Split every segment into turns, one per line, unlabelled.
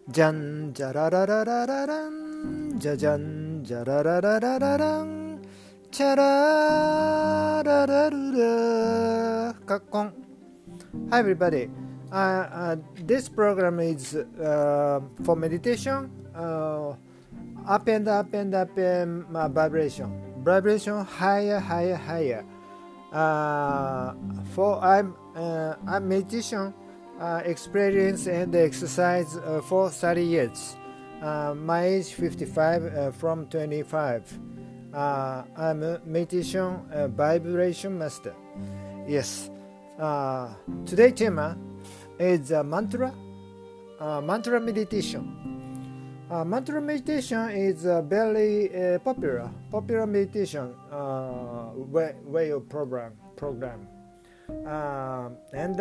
じゃんじゃららららららんじゃじゃんじゃららららららんチャラララルラカッコン Hi everybody, this program is for meditation, up and up and up and vibration higher. For I'm meditation experience and exercise for 30 years. My age 55 from 25. I'm a meditation vibration master. Yes. Today tema is mantra meditation. Mantra meditation is a very popular meditation way of program. And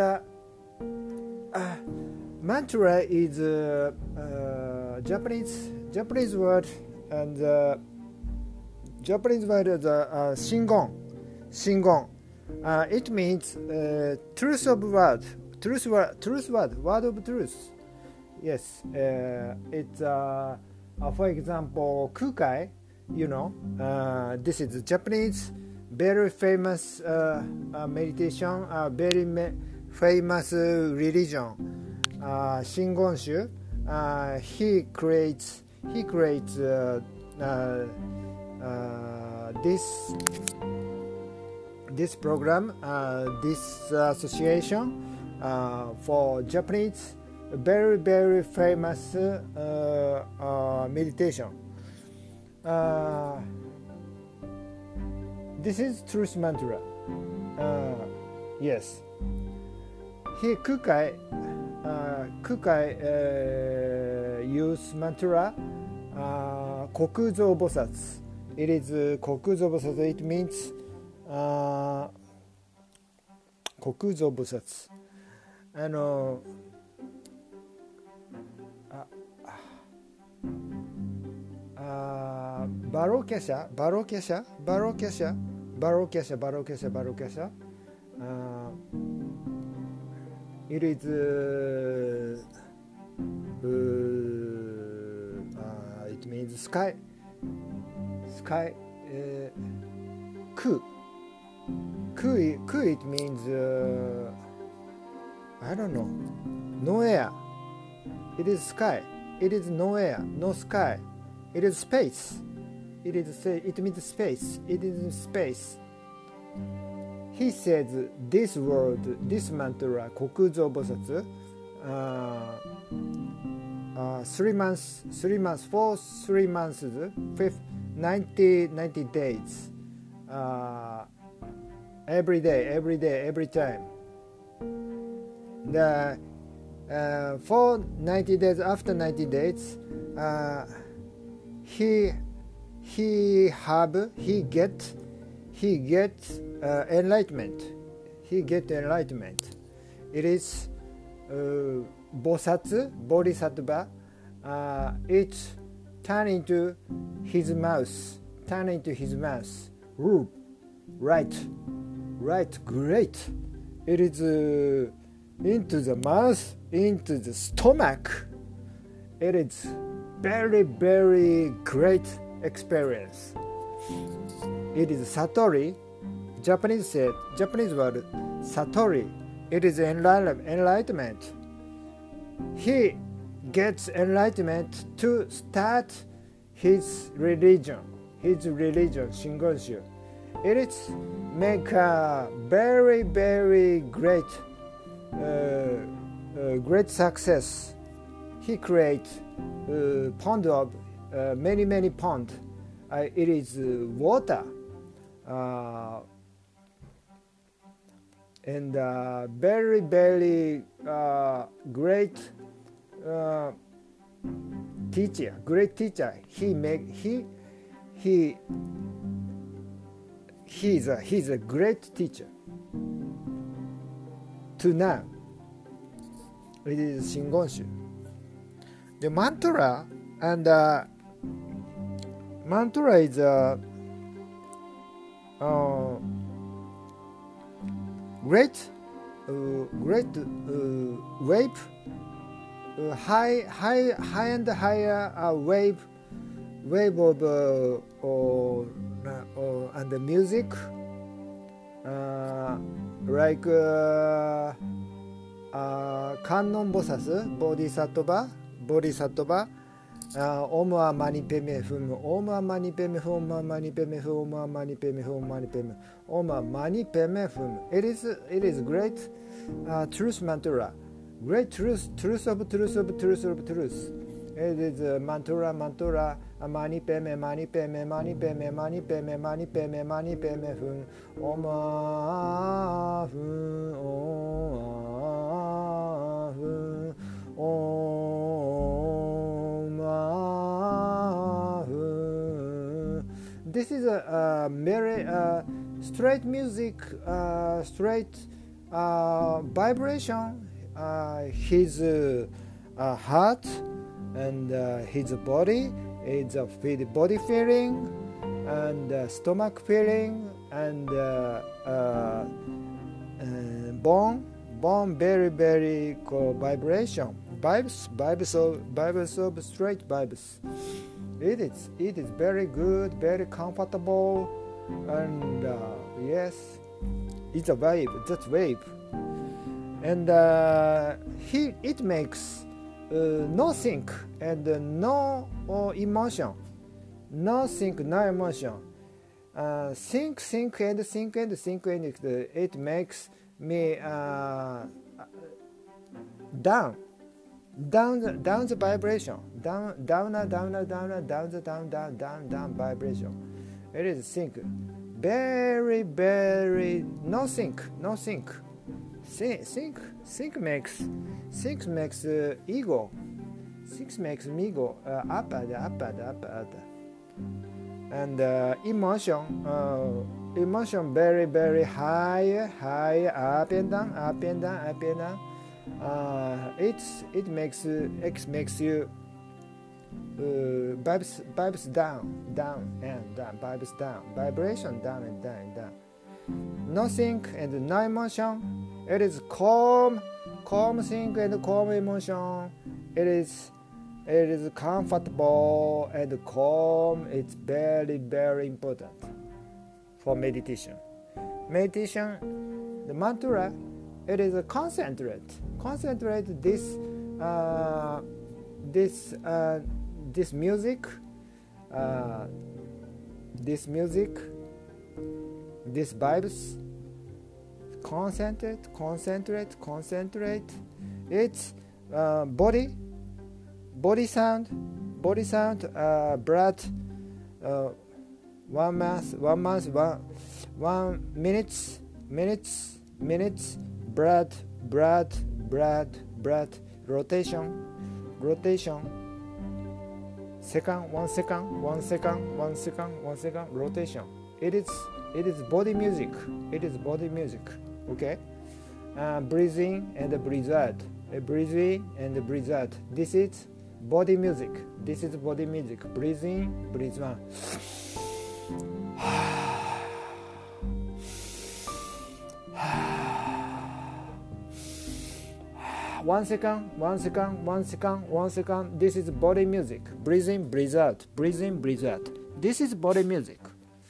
mantra is Japanese word, and Japanese word is shingon. It means truth of word, word of truth. Yes, it's for example kukai. This is Japanese very famous meditation, very famous religion. Shingonshu. He creates this program, this association for Japanese very famous meditation. This is truth mantra. Yes. He Kukai use mantra Kokuzo Bosatsu. It is Kokuzo Bosatsu. It means Kokuzo Bosatsu. Barokesha. It is it means sky. Ku it means I don't know, no air. It is sky. It is no air, no sky. It is space. It means space. It is space. He says this word, this mantra, Kokuzo Bosatsu, 3 months, 90 days, every day, every time. For 90 days, after 90 days, he gets enlightenment. It is bodhisattva. It turn into his mouth. Ooh, right, great. It is into the mouth, into the stomach. It is very great experience. It is satori. Japanese word satori. It is enlightenment. He gets enlightenment to start his religion Shingonshu. It is make a very great success. He creates pond of many pond. It is water. And very great teacher. He's a great teacher. To now, it is Shingonshu. The mantra is great wave high and higher wave of and the music like Kannon Bosatsu Bodhisattva Om Mani Padme Hum Om Mani Padme Hum Om Mani Padme Hum Om Mani Padme Hum Om Mani Padme Hum. It is great truth mantra, great truth of truth. It is mantra Mani Padme Mani Padme Mani Padme Mani Padme Mani Padme Mani Padme Hum Om This is a very straight music, straight vibration. His heart and his body is a body feeling and stomach feeling and bone very cool vibration. Vibes of straight vibes. It is very good, very comfortable, and yes, it's a wave. That's wave, and it makes no think and no emotion, no think, no emotion. Think and it makes me down the vibration, down vibration. It is think, very no think. Think makes ego. Think makes ego up, and emotion very high, up and down. It makes you vibes down, vibes down, vibration down and down. Nothing and no emotion. It is calm thing and calm emotion. It is comfortable and calm. It's very important for meditation. The mantra. It is a concentrate this music, this vibes. Concentrate. It's body sound, breath. 1 minutes. Breath, rotation. Second, 1 second, rotation. It is body music. Okay. Breathing and breathe out. Breathing and breathe out. This is body music. Breathing, breathe out. 1 second. This is body music. Breathing, breathe out. This is body music.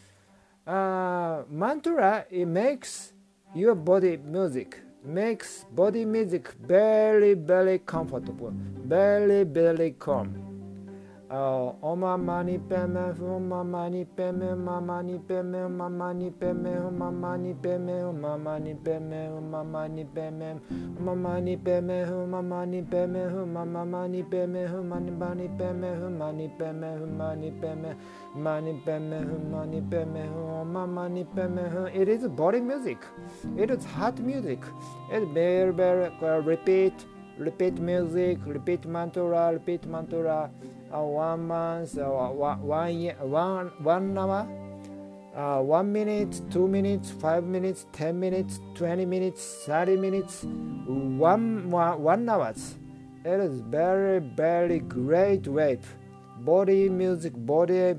Mantra, it makes your body music. Makes body music very comfortable. Very calm. Om Mani Padme Hum Om Mani Padme Hum Om Mani Padme Hum Om Mani Padme Hum Om Mani Padme Hum Om Mani Padme Hum Om Mani Padme Hum Om Mani Padme Hum Om Mani Padme Hum Om Mani Padme Hum Om Mani Padme Hum Mani Padme Hum Mani Padme Mani Padme Hum Mani Padme Hum Om Mani Padme Hum. It is body music. It is heart music. It very repeat music, repeat mantra. 1 month, 1 year, 1 hour, 1 minute, 2 minutes, 5 minutes, 10 minutes, 20 minutes, 30 minutes, 1 hour. It is very great wave. Body music, body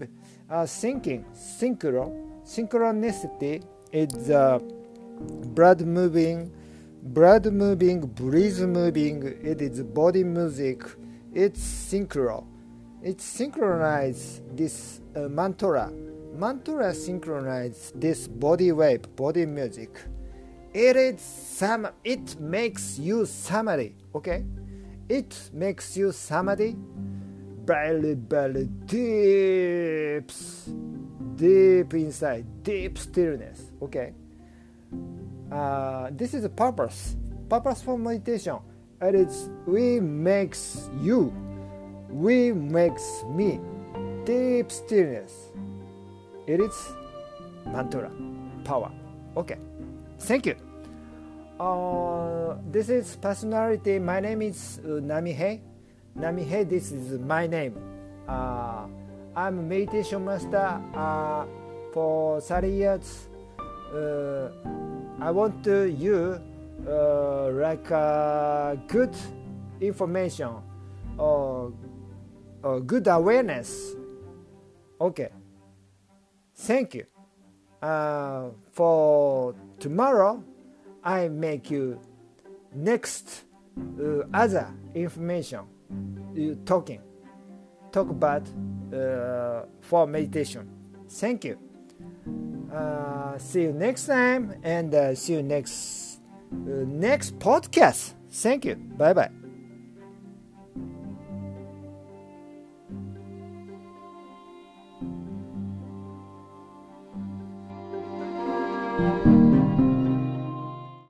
synchronicity is blood moving blood moving, breeze moving. It is body music. It's synchro. It synchronizes this mantra. Mantra synchronizes this body wave, body music. It makes you samadhi. Okay, it makes you samadhi. Very, very deep inside, deep stillness. Okay. This is the purpose for meditation. It is we makes me deep stillness. It is mantra power. Okay, thank you. This is personality. My name is Namihei. This is my name. I'm a meditation master for 30 years. I want you like good information or good awareness. Okay. Thank you. For tomorrow, I make you next other information. Talk about for meditation. Thank you. See you next time and see you next podcast. Thank you. Bye bye.